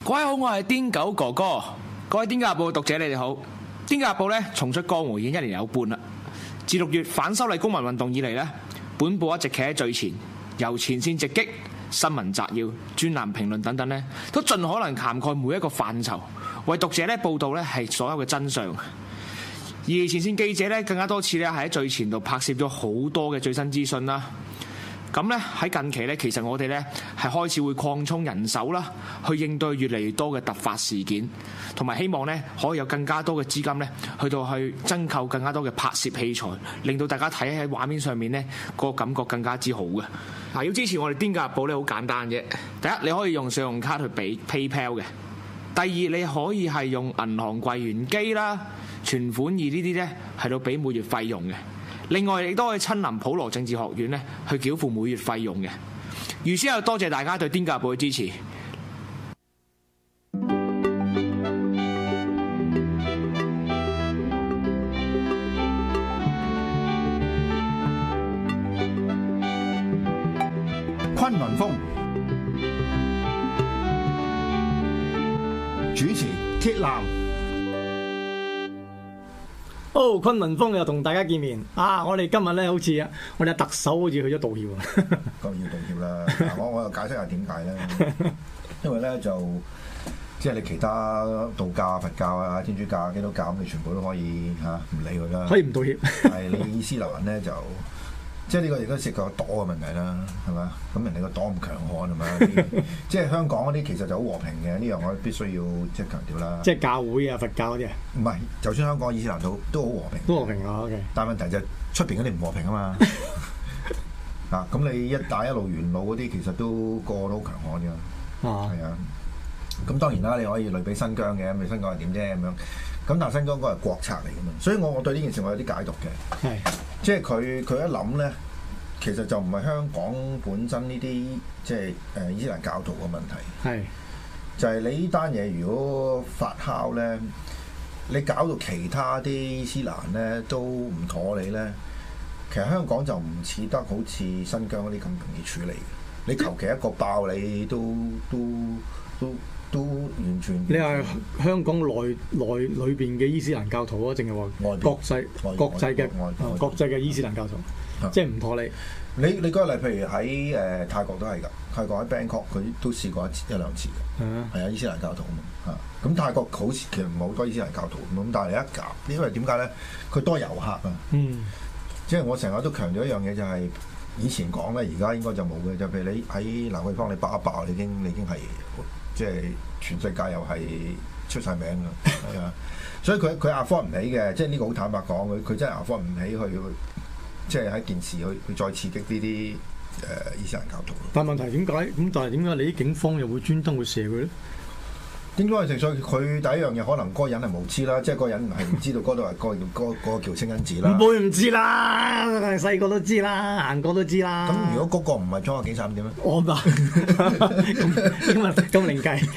各位好，我係癲狗哥哥。各位《癲狗日報》讀者，你哋好。《癲狗日報》咧重出江湖已經1年有半啦。自6月反修例公民運動以嚟咧，本報一直企喺最前，由前線直擊、新聞摘要、專欄評論等等咧，都盡可能涵蓋每一個範疇，為讀者咧報導咧係所有嘅真相。而前線記者咧更加多次咧係喺最前度拍攝咗好多嘅最新資訊啦。咁咧喺近期咧，其實我哋咧係開始會擴充人手啦，去應對越嚟越多嘅突發事件，同埋希望咧可以有更加多嘅資金咧，去增購更加多嘅拍攝器材，令到大家睇喺畫面上面咧個感覺更加之好嘅。嗱，要支持我哋《癲狗日報》咧，好簡單啫。第一，你可以用信用卡去俾 PayPal 嘅；第二，你可以係用銀行櫃員機啦、存款易呢啲咧，係到俾每月費用嘅。另外，亦都可以親臨普羅政治學院咧，去繳付每月費用嘅。預先又多謝大家對《癲狗日報》嘅支持。 崑崙風主持鐵男。 哦，崑崙風又同大家見面啊！我哋今日咧好似我哋特首好似去咗道歉啊！ 當然要道歉啦。嗱，我又解釋下點解咧？因為咧就即係你其他道教、佛教啊、天主教、基督教咁，你全部都可以唔理佢啦。 可以唔道歉？ 係你伊斯蘭咧就即係呢個亦都涉及個黨嘅問題啦，係嘛？咁人哋個黨咁強悍係嘛？即係香港嗰啲其實就好和平嘅，呢樣我必須要即係強調啦。 即係教會啊、佛教嗰啲啊？唔係，就算香港伊斯蘭都好和平。 都和平啊 ，OK。 但係問題就係出邊嗰啲唔和平啊嘛。咁你一帶一路沿路嗰啲其實都個個都好強悍㗎。係啊。咁當然啦，你可以類比新疆嘅，咁你新疆係點啫咁樣？咁但係新疆嗰個係國策嚟㗎嘛，所以我對呢件事我有啲解讀嘅。係。即係佢一諗咧，其實就唔係香港本身呢啲即係伊斯蘭教徒嘅問題。係。就係你呢單嘢如果發酵咧，你搞到其他啲伊斯蘭咧都唔妥你咧，其實香港就唔似得好似新疆嗰啲咁容易處理嘅。你求其一個爆你都完全。你係香港內邊嘅伊斯蘭教徒啊，定係話國際嘅伊斯蘭教徒，即係唔妥你。 你舉個例，譬如喺泰國都係㗎，泰國喺 Bangkok 佢都試過一兩次嘅，係啊，伊斯蘭教徒啊嘛嚇。咁泰國好似其實唔係好多伊斯蘭教徒咁，但係你一夾，因為點解咧？佢多遊客啊。即係我成日都強調一樣嘢，就係以前講咧，而家應該就冇嘅。就譬如你喺蘭桂坊你爆一爆，你已經係即係全世界又係出晒名㗎，係啊。所以佢afford唔起嘅，即係呢個好坦白講，佢真係afford唔起去。即係喺件事去再刺激呢啲伊斯蘭教徒。 但係問題點解咁？但係點解你啲警方又會專登去射佢咧？ 應該係正所謂佢第一樣嘢，可能嗰個人係無知啦，即係嗰個人係唔知道嗰度係嗰個叫清真寺啦。唔會唔知啦，細個都知啦，行過都知啦。 咁如果嗰個唔係裝個警察咁點咧？ 我吧，咁另計，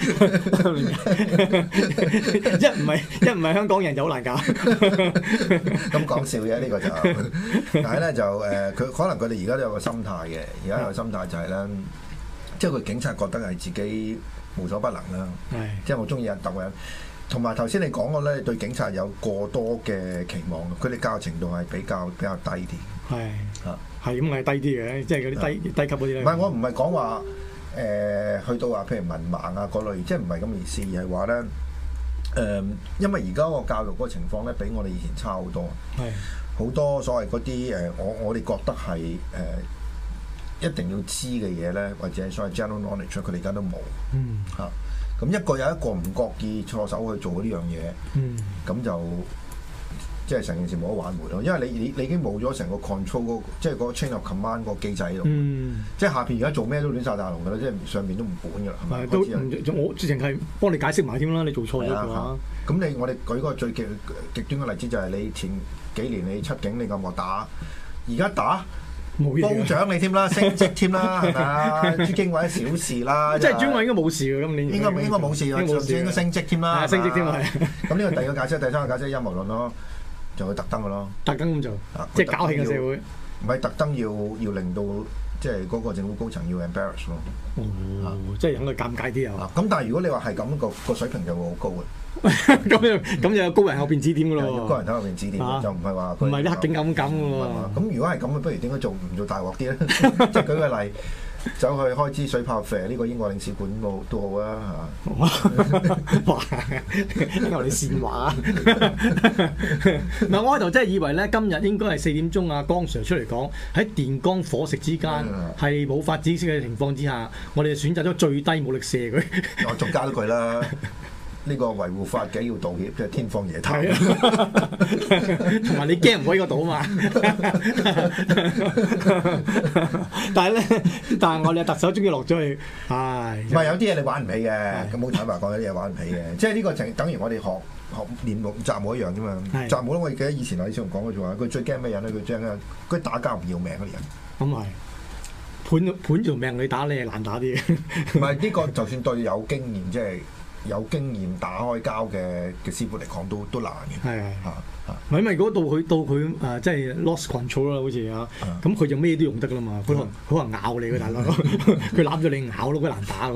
一唔係香港人就好難搞。 咁講笑嘅呢個就，但係咧就佢可能佢哋而家都有個心態嘅，而家有個心態就係咧，即係佢警察覺得係自己無所不能啦，即係我中意人鬥人，同埋頭先你講過咧，對警察有過多嘅期望，佢哋教育程度係比較低啲。 係咁係低啲嘅，即係嗰啲低級嗰啲咧。 唔係我唔係講話去到話譬如文盲啊嗰類，即係唔係咁意思，而係話咧因為而家個教育嗰個情況咧，比我哋以前差好多。好多所謂嗰啲我哋覺得係一定要知嘅嘢咧，或者所謂 general knowledge， 佢哋而家都冇。咁一個有一個唔覺意錯手去做呢樣嘢，咁就即係成件事冇得挽回咯。因為你已經冇咗成個 control 即係個 chain of command 個機制喺度。即係下邊而家做咩都亂晒大龍㗎啦，即係上邊都唔管㗎啦。係咪？ 都我直情係幫你解釋埋添啦。你做錯咗嘅話， 咁我哋舉個最極端嘅例子就係你前幾年你出境你咁惡打，而家打。褒獎你添啦，升職添啦，係咪啊？朱經緯小事啦， 即係朱經緯應該冇事嘅，今年應該冇事啊，上次應該升職添啦， 升職添係。 咁呢個第二個解釋，第三個解釋陰謀論咯，就會特登嘅咯， 特登咁做，即係搞興個社會。 唔係特登要令到即係嗰個政府高層要 embarrass 咯。 即係等佢尷尬啲啊！ 咁但係如果你話係咁個水平就會好高嘅。 咁就有高人後邊指點㗎咯。 高人喺後邊指點，就唔係話唔係啲黑警咁㗎喎。 咁如果係咁，不如點解唔做大鑊啲咧？即係舉個例。走去開支水炮射呢個英國領事館都好啊嚇！ 哇！因為你煽話嗱，我喺度真係以為咧，今日應該係4點鐘啊，江 Sir 出嚟講喺電光火石之間係冇法子嘅情況之下，我哋選擇咗最低武力射佢。 我仲加咗句啦。呢個維護法紀要道歉，即係天方夜譚。 同埋你驚唔可以個島嘛？但係我哋特首終於落咗去，唉！ 唔係有啲嘢你玩唔起嘅，咁好坦白講，有啲嘢玩唔起嘅。即係呢個就等於我哋學練武習武一樣啫嘛。習武咧，我記得以前李小龍講過句話，佢最驚咩人咧？佢打交唔要命嗰啲人。 咁係盤條命你打你係難打啲嘅。 唔係呢個，就算對有經驗，即係。有經驗打開交嘅師傅嚟講都難嘅。係唔係因為如果到佢即係 lost control 啦，好似啊，咁佢就咩都用得啦嘛。佢可能咬你嘅大佬，佢攬咗你咬咯，佢難打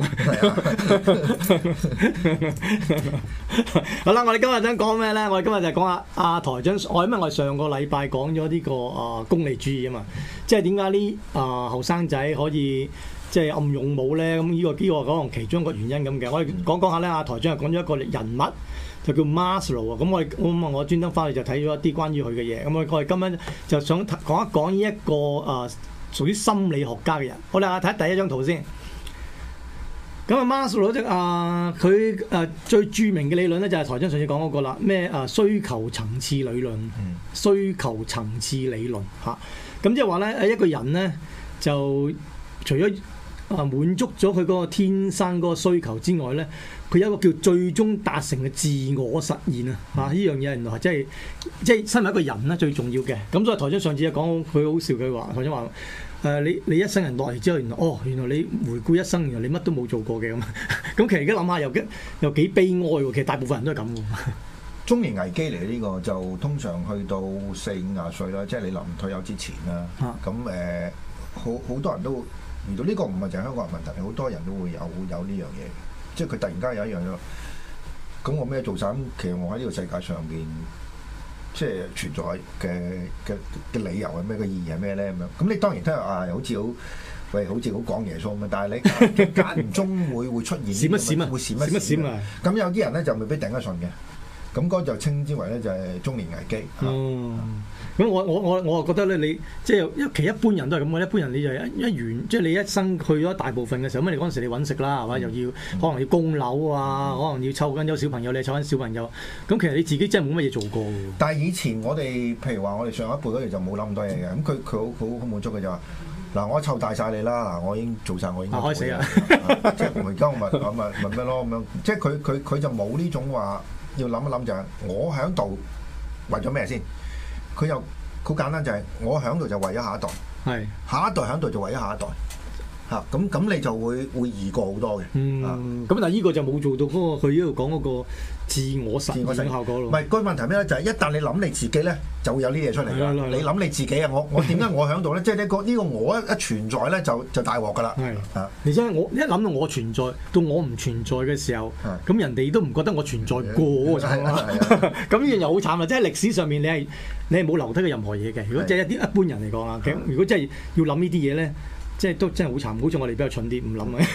好啦，我哋今日想講咩咧？我哋今日就講下阿台長。因為我哋上個禮拜講咗呢個功利主義啊嘛，即係點解呢後生仔可以即係暗勇武咧？咁呢個可能其中一個原因咁嘅。我哋講下咧，阿台長又講咗一個人物。就叫 Maslow 啊，咁我專登翻去就睇咗一啲關於佢嘅嘢，咁我哋今日就想講一講呢一個屬於心理學家嘅人。好啦，睇第一張圖先。咁Maslow 即佢最著名嘅理論咧就係台長上次講嗰個啦，咩需求層次理論，需求層次理論嚇。咁即係話咧，一個人咧就除咗滿足咗佢嗰個天生嗰個需求之外咧，佢有一個叫最終達成嘅自我實現啊！呢樣嘢原來係即係身為一個人咧最重要嘅。咁所以台長上次就講佢好笑，佢話台長話你一生人落嚟之後，原來你回顧一生，原來你乜都冇做過嘅咁。咁其實而家諗下又幾悲哀喎。其實大部分人都係咁喎。 中年危機嚟呢個就通常去到40-50歲啦，即係你臨退休之前啦。咁好多人都遇到呢個，唔係就係香港人問題，好多人都會有呢樣嘢。即係佢突然間有一樣嘢，咁我咩做晒？咁其實我喺呢個世界上邊，即係存在嘅理由係咩？個意義係咩咧？咁樣咁你當然都係好似好講耶穌咁，但係你間唔中會出現閃一閃啊， 會閃一閃啊！咁有啲人咧就未必頂得順嘅，咁嗰就稱之為咧就係中年危機。 咁我覺得咧，你即係其實一般人都係咁嘅。一般人你就一完，即係你一生去咗大部分嘅時候，咁你嗰陣時你揾食啦，係嘛？又要可能要供樓啊，可能要湊緊有小朋友，你湊緊小朋友。咁其實你自己真係冇乜嘢做過。但係以前我哋譬如話我哋上一輩嗰陣就冇諗咁多嘢嘅。咁佢好滿足嘅就話嗱，我湊大晒你啦，嗱我已經做晒我應該做嘅。開死啊！即係而家我咪咩咯咁樣。即係佢就冇呢種話要諗一諗就係我喺度為咗咩先？佢又好簡單，就係我喺度就為咗下一代，下一代喺度就為咗下一代，咁你就會易過好多嘅。咁但係呢個就冇做到嗰個佢呢度講嗰個自我實現效果咯。唔係，個問題咩咧？就係一旦你諗你自己咧，就會有呢啲嘢出嚟㗎。你諗你自己啊，我點解我喺度咧？即係呢個我一存在咧，就大鑊㗎啦。而且我一諗到我存在，到我唔存在嘅時候，咁人哋都唔覺得我存在過喎。咁呢樣又好慘啦！即係歷史上面你係冇留低嘅任何嘢嘅。如果即係一般人嚟講啊，如果真係要諗呢啲嘢咧，即係都真係好慘。好似我哋比較蠢啲，唔諗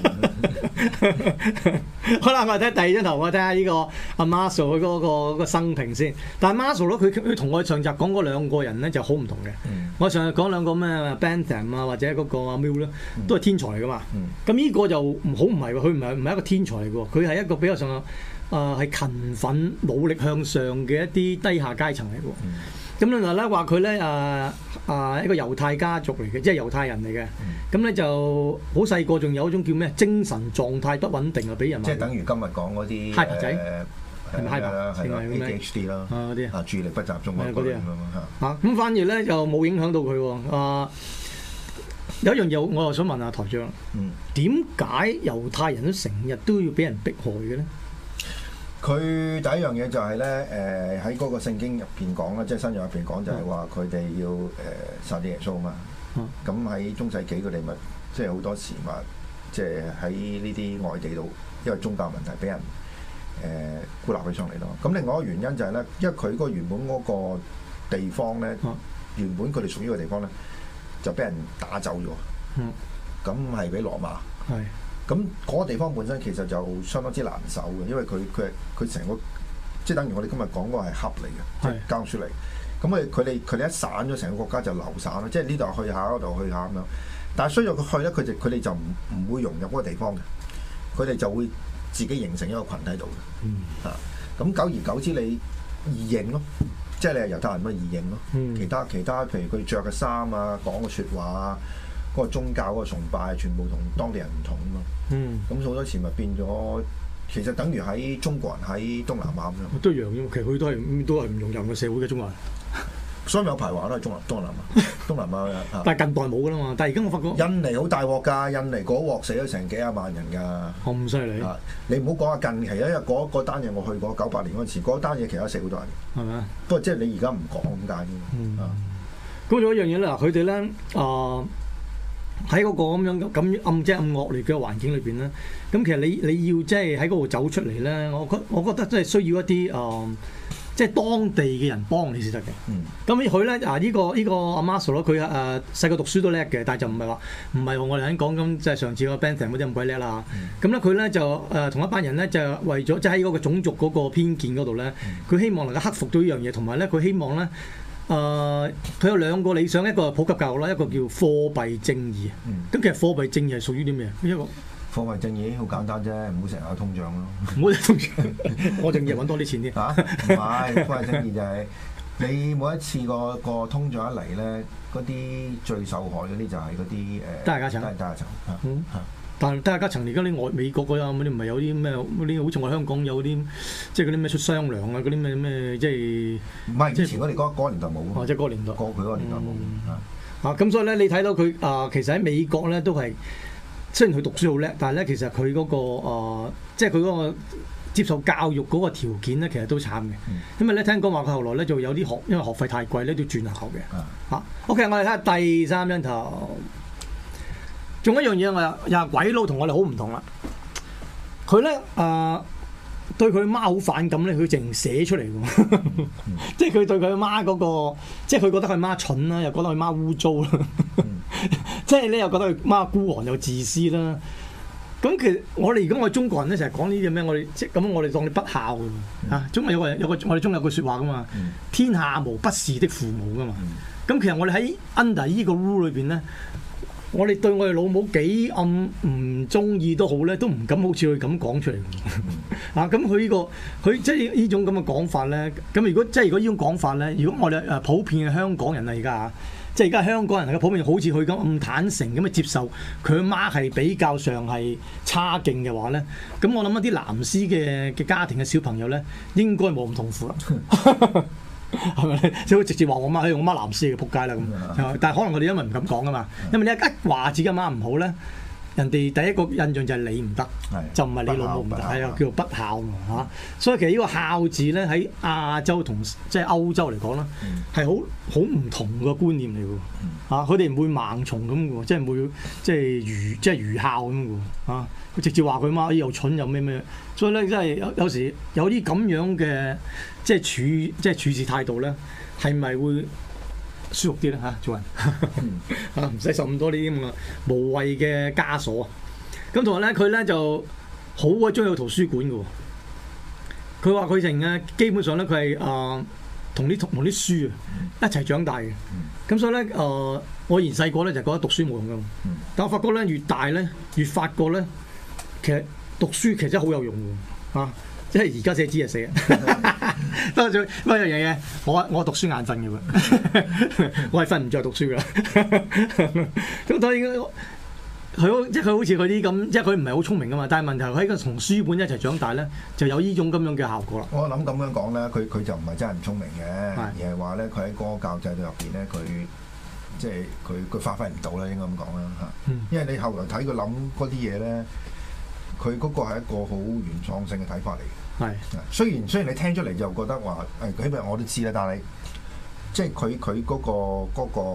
好啦，我哋睇第二張圖，我睇下呢個阿 Maslow 佢嗰個生平先。但係 Maslow 佢同我哋上集講嗰兩個人咧就好唔同嘅。我上日講兩個咩 Bentham 啊，或者嗰個阿 Mill 咧，都係天才嚟噶嘛。咁呢個就唔係喎，佢唔係一個天才嚟嘅喎，佢係一個比較上係勤奮努力向上嘅一啲低下階層嚟嘅。咁另外咧話佢咧一個猶太家族嚟嘅，即係猶太人嚟嘅。咁咧就好細個，仲有一種叫咩精神狀態不穩定啊，俾人即係等於今日講嗰啲 hyper 仔，係咪 hyper？係咪 ADHD 啦， 嗰啲注意力不集中嗰啲咁反而咧就冇影響到佢喎。有一樣嘢我又想問下台長，點解猶太人都成日都要俾人迫害嘅咧？ 佢第一樣嘢就係咧，喺嗰個聖經入邊講啦，即係新約入邊講就係話佢哋要殺啲耶穌嘛。 咁喺中世紀佢哋咪即係好多時咪即係喺呢啲外地度，因為宗教問題俾人孤立起上嚟咯。咁另外一個原因就係咧，因為佢嗰原本嗰個地方咧，原本佢哋屬於嘅地方咧，就俾人打走咗。咁係俾羅馬。咁嗰個地方本身其實就相當之難守嘅，因為佢成個即係等於我哋今日講嗰個係盒嚟嘅，即係交出嚟。咁佢哋一散咗，成個國家就流散啦，即係呢度去下，嗰度去下咁樣。但係需要佢去咧，佢哋就唔會融入嗰個地方嘅，佢哋就會自己形成一個群體度嘅。咁久而久之，你異形咯，即係你係猶太人咪異形咯。其他譬如佢着嘅衫啊，講嘅説話啊，嗰個宗教嗰個崇拜，全部同當地人唔同啊嘛。咁好多時咪變咗，其實等於喺中國人喺東南亞咁樣。 都一樣啫，其實佢都係唔融入個社會嘅中國人。 所以有排話都係東南亞但係近代冇㗎啦嘛。但係而家我發覺印尼好大鑊㗎，印尼嗰鑊死咗成幾廿萬人㗎。 咁犀利！ 你唔好講下近期啊，因為嗰單嘢我去過98年嗰陣時，嗰單嘢其實死好多人。係咪啊？不過即係你而家唔講咁解啫。 咁仲有一樣嘢咧，佢哋咧喺嗰個咁樣咁暗惡劣嘅環境裏邊咧，咁其實你要即係喺嗰度走出嚟咧，我覺得真係需要一啲即係當地嘅人幫你先得嘅。咁佢咧呢個阿 Marcel 佢細個讀書都叻嘅，但係就唔係我哋喺講咁即係上次個 Bentham 嗰啲咁鬼叻啦。咁咧佢咧就同一班人咧就為咗即係喺嗰個種族嗰個偏見嗰度咧，佢希望能夠克服到呢樣嘢，同埋咧佢希望咧佢有兩個理想，一個係普及教育啦，一個叫貨幣正義。咁其實貨幣正義係屬於啲咩？一個貨幣正義好簡單啫，唔好成日有通脹咯。 唔好通脹，我正義揾多啲錢啲。 唔係貨幣正義就係你每一次個通脹一嚟咧，嗰啲最受害嗰啲就係嗰啲低下層。但係低下層而家啲美國嗰啲唔係有啲咩嗰啲，好似我香港有啲即係嗰啲咩出雙糧啊，嗰啲咩即係唔係以前我哋嗰個年代冇。 即係嗰個年代。 過佢嗰個年代冇。 咁所以咧，你睇到佢其實喺美國咧都係。雖然佢讀書好叻，但係咧其實佢嗰個即係佢嗰個接受教育嗰個條件咧，其實都慘嘅。因為咧聽講話佢後來咧就有啲因為學費太貴咧，都要轉校嘅。OK， 我哋睇下第三張圖。仲有一樣嘢，我又係鬼佬同我哋好唔同啦。佢咧對佢媽好反感咧，佢淨寫出嚟嘅。即係佢對佢媽嗰個，即係佢覺得佢媽蠢啦，又覺得佢媽污糟啦。即係咧又覺得佢媽孤寒又自私啦。咁其實我哋如果我哋中國人咧成日講呢啲咩，我哋即係咁，我哋當你不孝嘅嚇。中國有個我哋中有句説話噶嘛，天下無不是的父母噶嘛。咁其實我哋喺 under 呢個 rule 裏邊咧，我哋對我哋老母幾暗唔中意都好咧，都唔敢好似佢咁講出嚟。咁佢即係呢種咁嘅講法咧。咁如果呢種講法咧，如果我哋普遍嘅香港人啊，而家即係而家香港人係普遍好似佢咁坦誠咁去接受佢阿媽係比較上係差勁嘅話咧，咁我諗一啲藍絲嘅家庭嘅小朋友咧，應該冇咁痛苦啦。係咪？即係會直接話我媽，我媽藍絲嘅仆街啦咁。但係可能我哋因為唔敢講啊嘛，因為你一話自己阿媽唔好咧，人哋第一個印象就係你唔得，就唔係你老母唔得，係啊，叫做不孝嘛嚇。所以其實呢個孝字咧喺亞洲同即係歐洲嚟講咧，係好唔同嘅觀念嚟㗎嚇。佢哋唔會盲從咁㗎，即係唔會即係愚孝咁㗎嚇。佢直接話佢媽又蠢又咩，所以咧真係有時有啲咁樣嘅即係處事態度咧，係咪會舒服啲咧嚇？做人唔使受咁多呢啲咁嘅無謂嘅枷鎖。咁同埋咧，佢咧就好鬼中意去圖書館嘅喎。佢話佢成日基本上咧，佢係同啲書一齊長大嘅。咁所以咧我以前細個咧就覺得讀書冇用㗎嘛。但我發覺咧越大咧越發覺咧，其實讀書其實真係好有用㗎嚇。即係而家寫字就寫，不過一樣嘢，我讀書眼瞓嘅喎，我係瞓唔着讀書㗎。咁所以佢好似佢啲咁，即係佢唔係好聰明㗎嘛。但係問題喺個同書本一齊長大咧，就有呢種咁樣嘅效果啦。 我諗咁樣講咧，佢就唔係真係唔聰明嘅，而係話咧佢喺嗰個教制度入邊咧，佢即係佢發揮唔到啦，應該咁講啦嚇。因為你後來睇佢諗嗰啲嘢咧，佢嗰個係一個好原創性嘅睇法嚟嘅。係，雖然你聽出嚟就覺得話起碼我都知啦，但係即係佢嗰個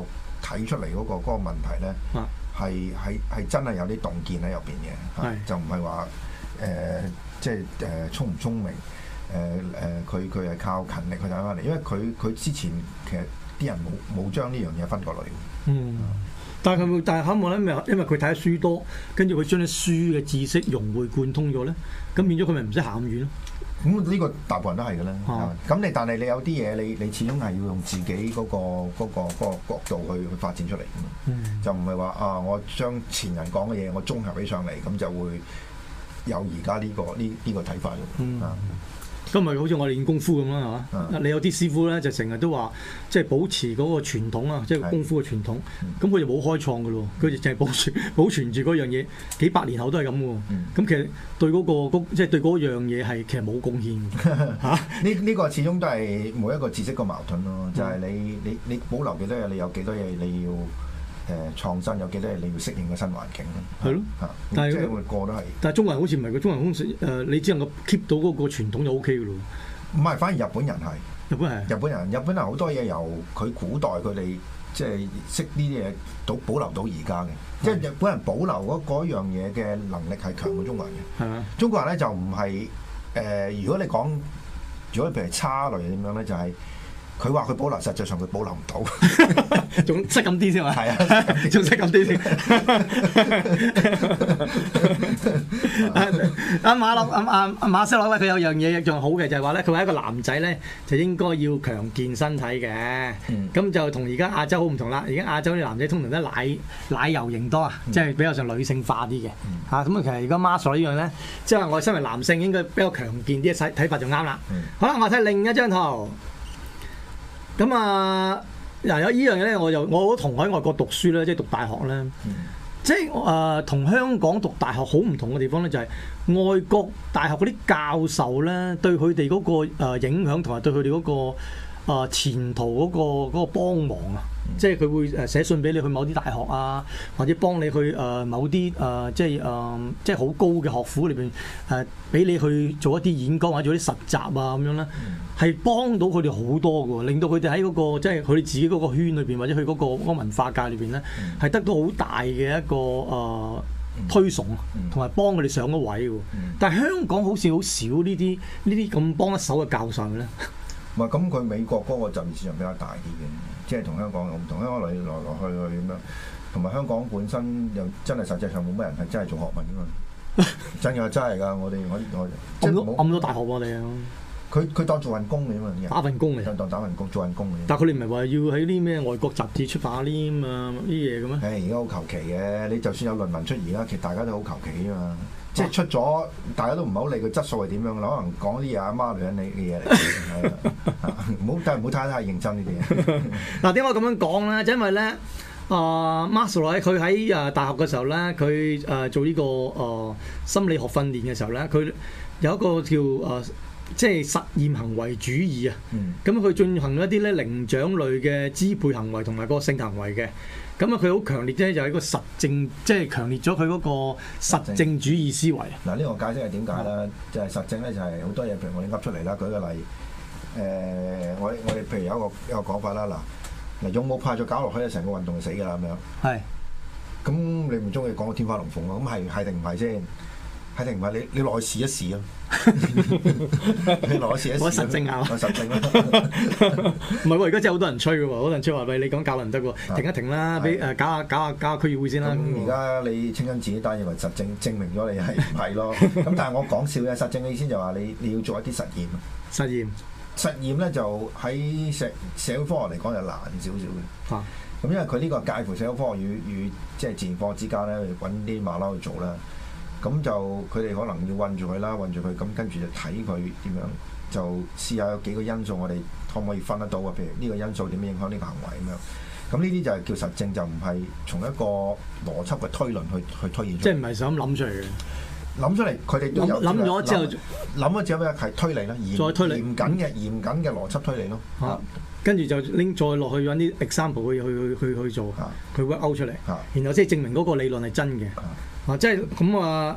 睇出嚟嗰個問題咧，係真係有啲洞見喺入邊嘅，就唔係話即係聰唔聰明，佢係靠勤力去睇翻嚟，因為佢之前其實啲人冇將呢樣嘢分過類。 但係可唔可能因為佢睇得書多，跟住佢將啲書嘅知識融會貫通咗咧，咁變咗佢咪唔使行咁遠咯？ 咁呢個大部分都係嘅啦。咁但係你有啲嘢，你始終係要用自己嗰個角度去發展出嚟嘅嘛。就唔係話我將前人講嘅嘢我綜合起上嚟，咁就會有而家呢個睇法咯。 咁咪好似我哋練功夫咁啦，係嘛？你有啲師傅咧就成日都話，即係保持嗰個傳統啊，即係功夫嘅傳統。咁佢就冇開創嘅咯，佢就淨係保存住嗰樣嘢，幾百年後都係咁喎。咁其實對即係對嗰樣嘢係其實冇貢獻嘅。 呢個始終都係每一個知識個矛盾咯，就係你保留幾多嘢，你有幾多嘢你要創新，有幾多嘢你要適應個新環境咯。係咯， 但係即係個都係。 但係中國人好似唔係個中國人好似你只能夠 keep 到嗰個傳統就 O K 嘅咯。 唔係，反而日本人係。日本人好多嘢由佢古代佢哋即係識呢啲嘢保留到而家嘅，即係日本人保留嗰樣嘢嘅能力係強過中國人嘅。係啊，中國人咧就唔係如果你講，如果譬如差類點樣咧，就係。佢話佢保留，實際上佢保留唔到， 仲識咁啲先嘛？ 係啊， 仲識咁啲先。馬修羅佢有樣嘢仲好嘅，就係話咧，佢話一個男仔咧就應該要強健身體嘅。咁就同而家亞洲好唔同啦。而家亞洲啲男仔通常都奶油型多啊，即係比較上女性化啲嘅。咁其實而家馬修羅呢樣咧，即係話我身為男性應該比較強健啲嘅睇法就啱啦。好啦，我睇另一張圖。咁有呢樣嘢咧，我同喺外國讀書咧，即係讀大學咧，即係同香港讀大學好唔同嘅地方咧，就係外國大學嗰啲教授咧，對佢哋嗰個影響同埋對佢哋嗰個前途嗰個幫忙啊，即係佢會寫信俾你去某啲大學啊，或者幫你去某啲即係好高嘅學府裏邊俾你去做一啲演講或者做啲實習啊咁樣咧，係幫到佢哋好多嘅，令到佢哋喺嗰個即係佢哋自己嗰個圈裏邊或者佢嗰個文化界裏邊咧，係得到好大嘅一個推崇同埋幫佢哋上咗位嘅。但係香港好似好少呢啲咁幫一手嘅教授咧。 唔係咁，佢美國嗰個就業市場比較大啲嘅，即係同香港唔同。香港來去咁樣，同埋香港本身又真係實際上冇乜人係真係做學問㗎嘛。真係㗎，我暗咗大學我哋啊！ 佢當做份工嘅嘛， 打份工嚟， 當打份工做份工嘅。 但係佢哋唔係話要喺啲咩外國雜誌出版啲啊啲嘢嘅咩？ 而家好求其嘅，你就算有論文出而家，其實大家都好求其啊嘛。即係出咗，大家都唔係好理個質素係點樣，可能講啲嘢阿媽女人你嘅嘢嚟，唔好睇太認真呢啲嘢。 嗱，點解我咁樣講咧？就因為咧，Maslow 佢喺大學嘅時候咧，佢做呢個心理學訓練嘅時候咧，佢有一個叫即係實驗行為主義啊。咁佢進行一啲咧靈長類嘅支配行為同埋個性行為嘅。咁佢好強烈啫，就係一個實證，即係強烈咗佢嗰個實證主義思維。 嗱，呢個解釋係點解咧？就係實證咧，就係好多嘢，譬如我哋噏出嚟啦。舉個例，我哋譬如有一個講法啦。嗱，勇武派再搞落去，成個運動就死㗎啦咁樣。係。咁你唔中意講個天花龍鳳咯？咁係定唔係先？係定唔係？你落去試一試啊！你落去試一試。我實證啊！我實證啦。唔係喎， 而家真係好多人吹嘅喎，好多人吹話喂，你講教唔得喎，停一停啦，俾搞下區議會先啦。 咁而家你清真寺單認為實證證明咗你係唔係咯？咁但係我講笑嘅實證嘅意思就話你要做一啲實驗。實驗咧就喺社會科學嚟講就難少少嘅。咁因為佢呢個介乎社會科學與即係自然科學之間咧，揾啲馬騮去做啦。咁就佢哋可能要韞住佢啦，韞住佢，咁跟住就睇佢點樣，就試下有幾個因素，我哋可唔可以分得到啊？譬如呢個因素點樣影響呢個行為咁樣。咁呢啲就係叫實證，就唔係從一個邏輯嘅推論去推演。 即係唔係想諗出嚟嘅？諗出嚟，佢哋都有諗咗之後， 諗咗之後咩係推理啦， 再推理嚴謹嘅邏輯推理咯。 跟住就拎再落去揾啲 example 去做，佢 work out 出嚟，然後即係證明嗰個理論係真嘅。即係咁呢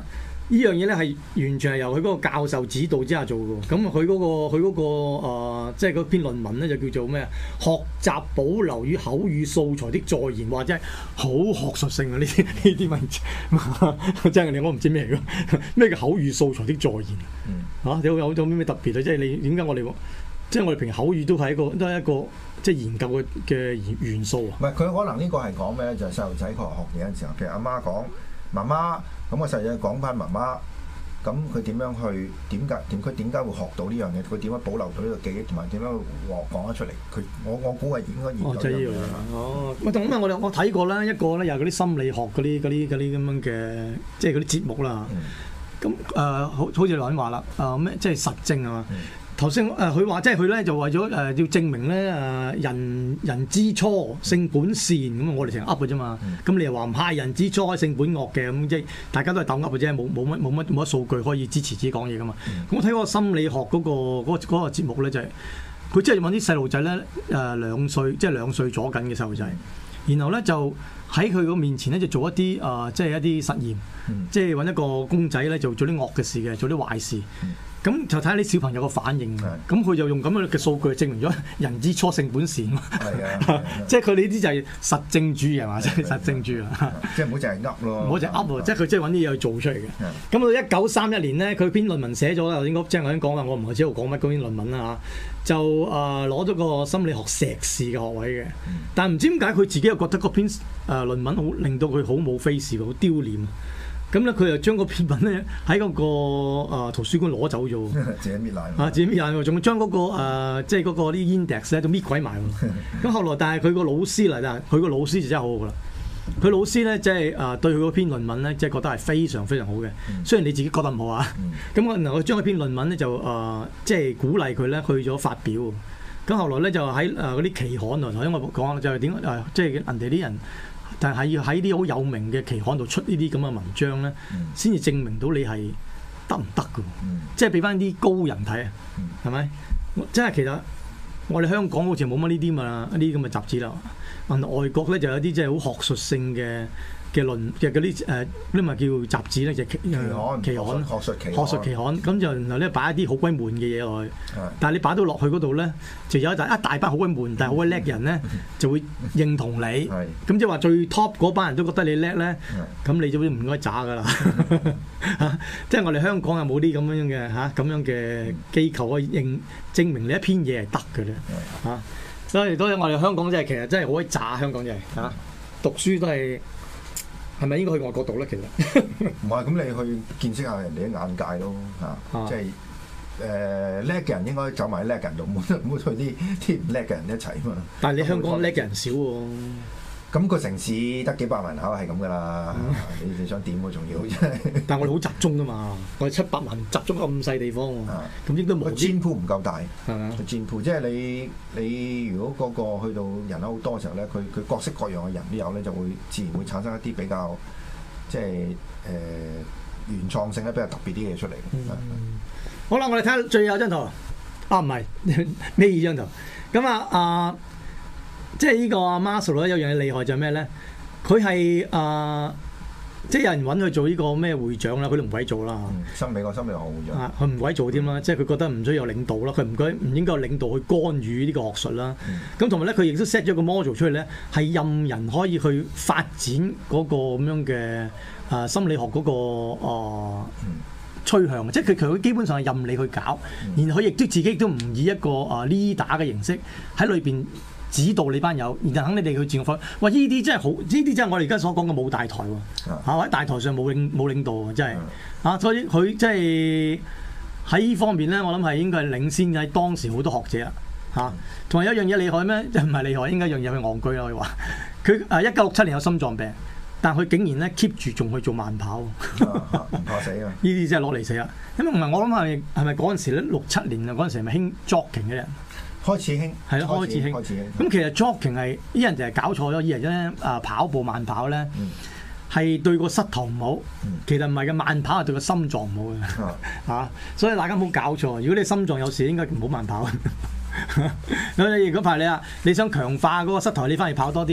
呢樣嘢咧係完全係由佢嗰個教授指導之下做嘅。咁佢嗰個即係嗰篇論文咧就叫做咩啊？學習保留與口語素材的再現，或者係好學術性啊！呢啲文字真係我唔知咩嚟㗎，咩叫口語素材的再現？有種咩特別啊？即係你點解我哋即係我哋平時口語都係一個即係研究嘅元素啊？ 唔係佢可能呢個係講咩咧？就係細路仔佢學嘢嘅時候，譬如阿媽講媽媽，咁個細路仔講翻媽媽，咁佢點樣去點解會學到呢樣嘢？佢點樣保留到呢個記憶，同埋點樣講得出嚟？我估係應該研究呢樣嘢。 咁啊，我睇過啦，一個咧又係嗰啲心理學嗰啲咁樣嘅，即係嗰啲節目啦。咁好似你話啦，咩即係實證啊嘛。頭先佢話即係佢咧就為咗要證明咧人之初性本善，咁我哋成日噏嘅啫嘛。咁你又話唔係人之初性本惡嘅，咁即係大家都係鬥噏嘅啫，冇乜數據可以支持自己講嘢噶嘛。咁我睇嗰個心理學嗰個節目咧就係佢即係揾啲細路仔咧2歲，即係2歲左緊嘅細路仔，然後咧就喺佢個面前咧就做一啲即係一啲實驗，即係揾一個公仔咧就做啲惡嘅事嘅，做啲壞事。咁就睇下啲小朋友個反應，咁佢就用咁樣嘅數據證明咗人之初性本善。即係佢呢啲就係實證主義係嘛？即係實證主義啊！ 即係唔好淨係噏咯， 唔好淨係噏喎，即係佢即係揾啲嘢去做出嚟嘅。咁到1931年咧，佢篇論文寫咗啦，頭先即係我已經講啦，我唔係知道講乜嗰篇論文啦嚇，就攞咗個心理學碩士嘅學位嘅。但係唔知點解佢自己又覺得嗰篇論文好令到佢好冇 face 好丟臉。咁咧，佢又將嗰篇文咧喺嗰個圖書館攞走咗， 自己搣爛自己搣爛喎，仲將嗰個即係嗰個啲 index 咧都搣鬼埋喎。咁後來，但係佢個老師嚟，但係佢個老師就真係好好噶啦。佢老師咧即係對佢嗰篇論文咧，即係覺得係非常非常好嘅。雖然你自己覺得唔好啊，咁我然後將嗰篇論文咧就即係鼓勵佢咧去咗發表。咁後來咧就喺嗰啲期刊度，頭先我講就係點即係人哋啲人。但係要喺啲好有名嘅期刊度出呢啲咁嘅文章咧，先至證明到你係得唔得㗎？即係俾翻啲高人睇啊，係咪？即係其實我哋香港好似冇乜呢啲嘛，呢啲咁嘅雜誌啦。外國咧就有啲即係好學術性嘅論嘅嗰啲咪叫雜誌咧，就期刊學術期刊，咁就然後咧擺一啲好鬼悶嘅嘢落去。但係你擺到落去嗰度咧，就有一大班好鬼悶但係好鬼叻嘅人咧，就會認同你。咁即係話最 top 嗰班人都覺得你叻咧，咁你就唔應該渣噶啦。即係我哋香港有冇啲咁樣嘅咁樣嘅機構可以證明你一篇嘢係得嘅咧？所以我哋香港真係其實真係好鬼渣，香港真係讀書都係。係咪應該去外國讀咧？其實唔係，咁你去見識下人哋啲眼界咯，即係叻嘅人應該走埋叻嘅人度，唔好去啲唔叻嘅人一齊嘛。 但係你香港叻嘅人少喎。 咁個城市得幾百萬口係咁噶啦，你想點喎？仲要真係。 但係我哋好集中噶嘛，我哋700萬集中咁細地方喎，咁應該冇。 佔鋪唔夠大， 係咪啊？ 佔鋪即係你如果嗰個去到人口好多嘅時候咧，佢各式各樣嘅人都有咧，就會自然會產生一啲比較即係原創性咧比較特別啲嘅嘢出嚟。 好啦，我哋睇下最後一張圖。唔係咩二張圖？咁即係呢個 Maslow 咧有樣嘢厲害就係咩咧？佢係即係有人揾佢做呢個咩會長啦，佢都唔鬼做啦。 美國心理學會長。 佢唔鬼做添啦，即係佢覺得唔需要有領導啦，佢唔應該有領導去干預呢個學術啦。咁同埋咧，佢亦都 set 咗個 model 出嚟咧，係任人可以去發展嗰個咁樣嘅心理學嗰個趨向，即係佢基本上係任你去搞，然後佢亦都自己都唔以一個leader 嘅形式喺裏邊指導你班友，然後肯你哋去自我發。哇！呢啲真係好，呢啲真係我哋而家所講嘅冇大台喎，喺大台上冇領導喎，真係所以佢即係喺呢方面咧，我諗係應該係領先喺當時好多學者啦。同埋有一樣嘢厲害咩？唔係厲害，應該一樣嘢佢戇居啦。可以話佢1967年有心臟病，但佢竟然咧 keep 住仲去做慢跑，唔怕死啊！ 呢啲真係攞嚟死啦。因為唔係我諗係咪嗰陣時咧67年啊？嗰陣時係咪興 jogging 嘅人？ 開始興係咯，開始興。 咁其實 jogging 係啲人就係搞錯咗，以為咧跑步慢跑咧係對個膝頭唔好，其實唔係嘅，慢跑係對個心臟唔好嘅所以大家唔好搞錯。如果你心臟有事，應該唔好慢跑。咁你如果排你想強化嗰個膝頭，你翻去跑多啲，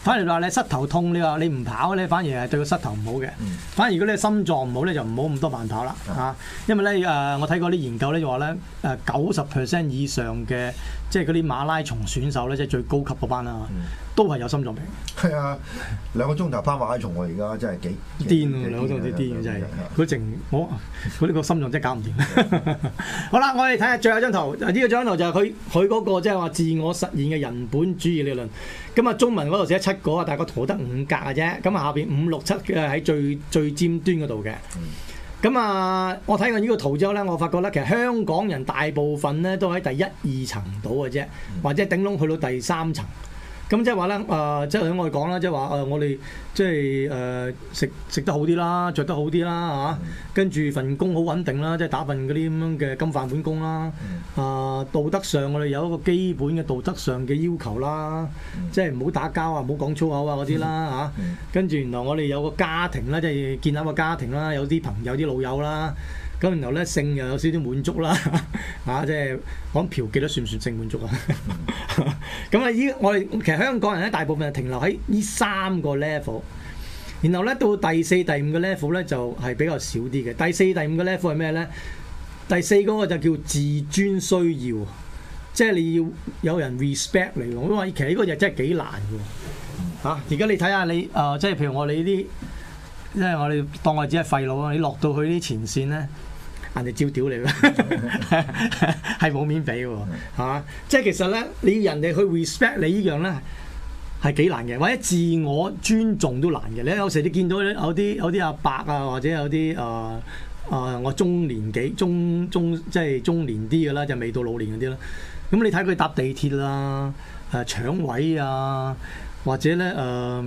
反而話你膝頭痛，你話你唔跑咧，反而係對個膝頭唔好嘅。反而如果你心臟唔好咧，就唔好咁多慢跑啦嚇。因為咧我睇過啲研究咧就話咧90% 以上嘅即係嗰啲馬拉松選手咧，即係最高級嗰班啦，都係有心臟病。 係啊，2個鐘頭跑馬拉松我而家真係幾癲喎，2個鐘頭癲嘅真係。佢淨佢呢個心臟真係搞唔掂。好啦，我哋睇下最後一張圖。呢個張圖就係佢嗰個即係話自我實現嘅人本主義理論。咁啊，中文嗰度寫7個啊，但係個圖得5格嘅啫。咁啊，下邊5、6、7嘅喺最尖端嗰度嘅。咁啊，我睇過呢個圖之後咧，我發覺咧，其實香港人大部分咧都喺第1、2層度嘅啫，或者頂籠去到第3層。咁即係話咧，即係我哋講啦，即係話我哋即係食得好啲啦，着得好啲啦嚇，跟住份工好穩定啦，即係打份嗰啲咁樣嘅金飯碗工啦。道德上我哋有一個基本嘅道德上嘅要求啦，即係唔好打交啊，唔好講粗口啊嗰啲啦嚇。跟住原來我哋有個家庭啦，即係建立個家庭啦，有啲朋友、啲老友啦。咁然後咧，性又有少少滿足啦，即係講嫖妓都算唔算性滿足啊？咁啊，我哋其實香港人咧，大部分係停留喺呢3個 level， 然後咧到第4、第5個 level 咧就係比較少啲嘅。第4、第5個 level 係咩咧？第4嗰個就叫自尊需要，即係你要有人 respect 你喎。我話其實呢個就真係幾難嘅喎。而家你睇下你即係譬如我哋呢啲，即係我哋當我只係廢佬啊！你落到去啲前線咧，人哋照屌你㗎，係冇面俾喎，係嘛？即係其實咧，你要人哋去 respect 你呢樣咧係幾難嘅，或者自我尊重都難嘅。你有時你見到有啲阿伯啊，或者有啲我中年紀即係中年啲嘅啦，就未到老年嗰啲啦。咁你睇佢搭地鐵啦，搶位啊，或者咧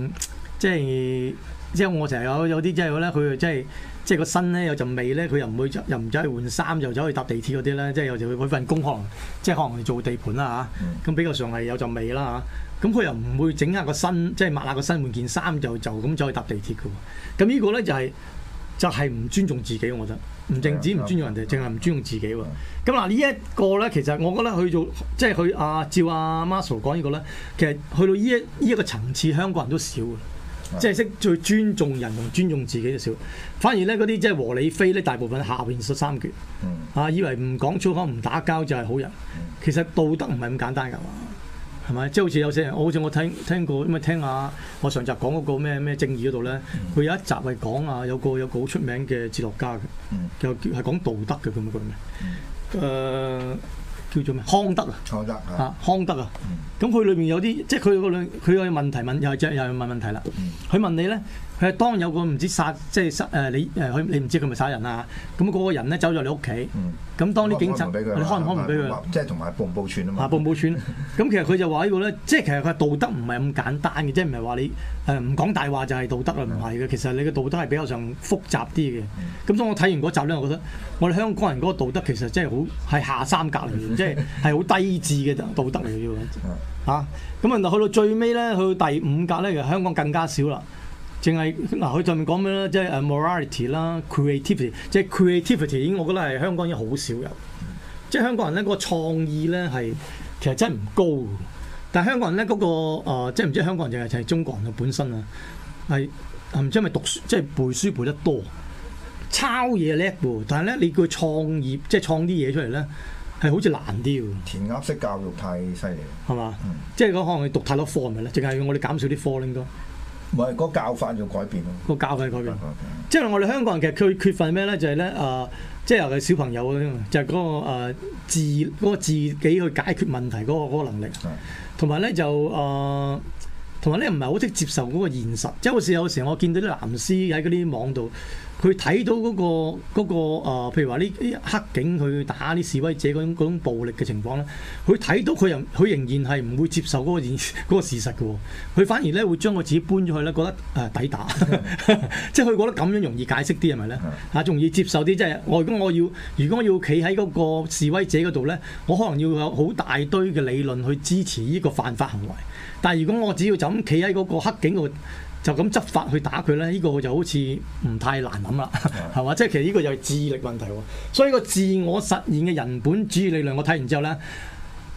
即係我成日有啲即係咧，佢即係個身咧有陣味咧，佢又唔走去換衫，就走去搭地鐵嗰啲咧，即係有時佢份工可能做地盤啦嚇，咁比較上係有陣味啦嚇，咁佢又唔會整下個身，即係抹下個身換件衫就咁走去搭地鐵嘅喎，咁呢個咧就係唔尊重自己，我覺得唔淨止唔尊重人哋，淨係唔尊重自己喎。咁嗱呢一個咧，其實我覺得去做即係佢照阿 Marshall 講呢個咧，其實去到呢一個層次，香港人都少嘅。即係識最尊重人同尊重自己就少，反而咧嗰啲即係和理非咧，大部分下邊13橛，以為唔講粗口唔打交就係好人，其實道德唔係咁簡單㗎嘛，係咪？即係好似有些人，好似我聽過，咁啊聽下我上集講嗰個咩正義嗰度咧，佢有一集係講有個好出名嘅哲學家嘅，就係講道德嘅咁樣咩？叫做咩？康德啊！康德啊！咁佢裏面有啲，即係佢個問題又係問問題啦。佢問你咧，佢係當有個唔知殺，即係你唔知佢咪殺人啊？咁嗰個人咧走咗你屋企，咁當啲警察，你開唔俾佢？ 即係同埋報唔報串啊嘛。 報唔報串？咁其實佢就話呢個咧，即係其實佢道德唔係咁簡單嘅，即係唔係話你唔講大話就係道德啦，唔係嘅。其實你嘅道德係比較上複雜啲嘅。咁所以我睇完嗰集咧，我覺得我哋香港人嗰個道德其實真係好係下三格嚟嘅，即係好低智嘅道德嚟嘅喎。咁去到最尾咧，去到第5格咧，其實香港更加少啦。淨係佢上面講咩咧？即係morality 啦 ，creativity， 即係 creativity 已經我覺得係香港已經好少有。即係香港人咧嗰個創意咧係其實真係唔高。但係香港人咧嗰個即係唔知香港人定係中國人嘅本身啊，係唔知係咪讀書即係背書背得多，抄嘢叻喎。但係咧你叫佢創業即係創啲嘢出嚟咧，係好似難啲喎。 填鴨式教育太犀利，係嘛？即係可能你讀太多科係咪咧？淨係我哋減少啲科應該。 唔係，嗰個教法要改變咯。 個教法改變，即係我哋香港人其實佢缺乏咩咧？就係咧即係尤其小朋友就係嗰個自己去解決問題嗰個能力，同埋咧就同埋咧唔係好識接受嗰個現實。即係好似有時我見到啲藍絲喺嗰啲網度，佢睇到嗰個譬如話呢啲黑警去打啲示威者嗰種暴力嘅情況咧，佢睇到佢仍然係唔會接受嗰個事實嘅喎，佢反而咧會將佢自己搬咗去咧，覺得抵打，即係佢覺得咁樣容易解釋啲係咪咧？容易接受啲，即係如果我要企喺嗰個示威者嗰度咧，我可能要有好大堆嘅理論去支持呢個犯法行為，但係如果我只要就咁企喺嗰個黑警度，就咁執法去打佢咧，呢個就好似唔太難諗啦，係嘛？即係其實呢個就係智力問題喎。所以個自我實現嘅人本主義理論，我睇完之後咧，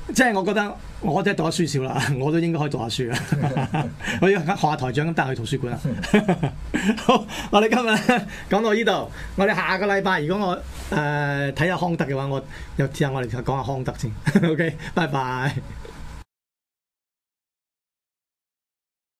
即係我覺得我真係讀得書少啦，我都應該可以讀下書啊！我要學下台長咁帶去圖書館啊！好，我哋今日咧講到呢度，我哋下個禮拜如果我睇下康德嘅話，我又試下我哋講下康德先。OK，拜拜。